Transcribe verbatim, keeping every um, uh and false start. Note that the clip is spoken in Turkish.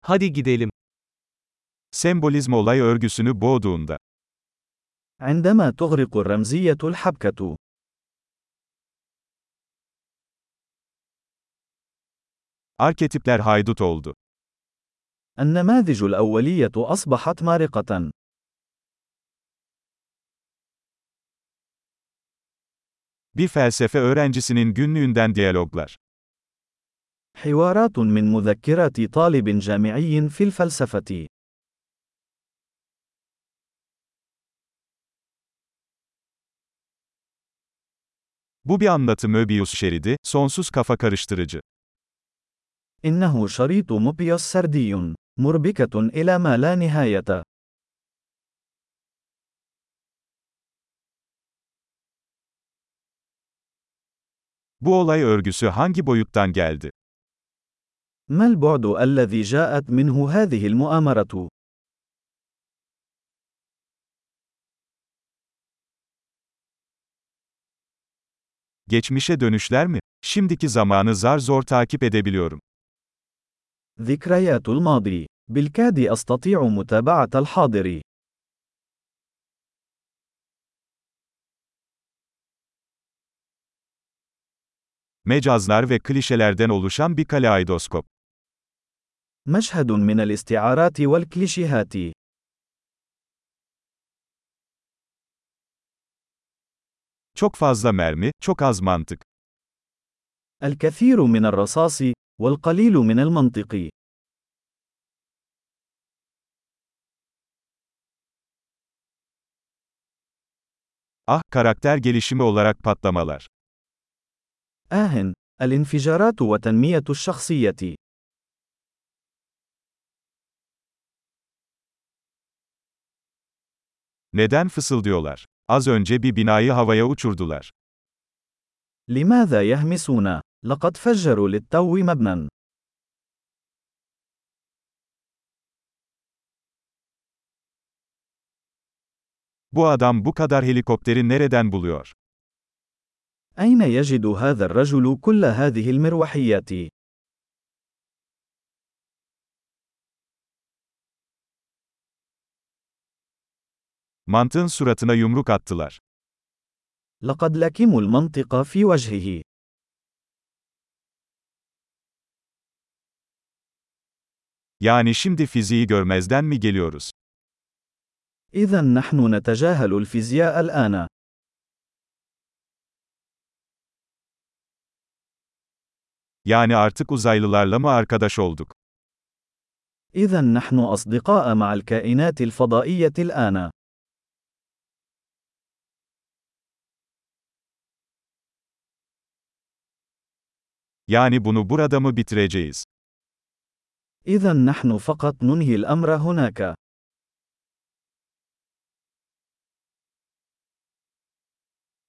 Hadi gidelim. Sembolizm olay örgüsünü boğduğunda. عندما تغرق الرمزية الحبكة. Arketipler haydut oldu. النماذج الأولية أصبحت مارقة. Bir felsefe öğrencisinin günlüğünden diyaloglar. حوارات من مذكرات طالب جامعي في الفلسفة. Bu bir anlatı Möbius şeridi, sonsuz kafa karıştırıcı. إنه شريط موبيوس سردي، مربكة إلى ما لا نهاية. Bu olay örgüsü hangi boyuttan geldi? ما البعد الذي جاءت منه هذه المؤامرة؟ Geçmişe dönüşler mi? Şimdiki zamanı zar zor takip edebiliyorum. ذكريات الماضي. بالكاد أستطيع متابعة الحاضر. Mecazlar ve klişelerden oluşan bir kaleidoskop. مشهد من الاستعارات والكليشيهات. Çok fazla mermi, çok az mantık. الكثير من الرصاص، والقليل من المنطق. Ah, karakter gelişimi olarak patlamalar. آه، الانفجارات وتنمية الشخصية. Neden fısıldıyorlar? Az önce bir binayı havaya uçurdular. لماذا يهمسون؟ لقد فجروا للتو مبنى. Bu adam bu kadar helikopteri nereden buluyor? أين يجد هذا الرجل كل هذه المروحيات؟ Mantığın suratına yumruk attılar. لقد لكموا المنطق في وجهه. Yani şimdi fiziği görmezden mi geliyoruz? إذا نحن نتجاهل الفيزياء الآن. Yani artık uzaylılarla mı arkadaş olduk? إذا نحن أصدقاء مع الكائنات الفضائية الآن. Yani bunu burada mı bitireceğiz? إذا نحن فقط ننهي الأمر هناك.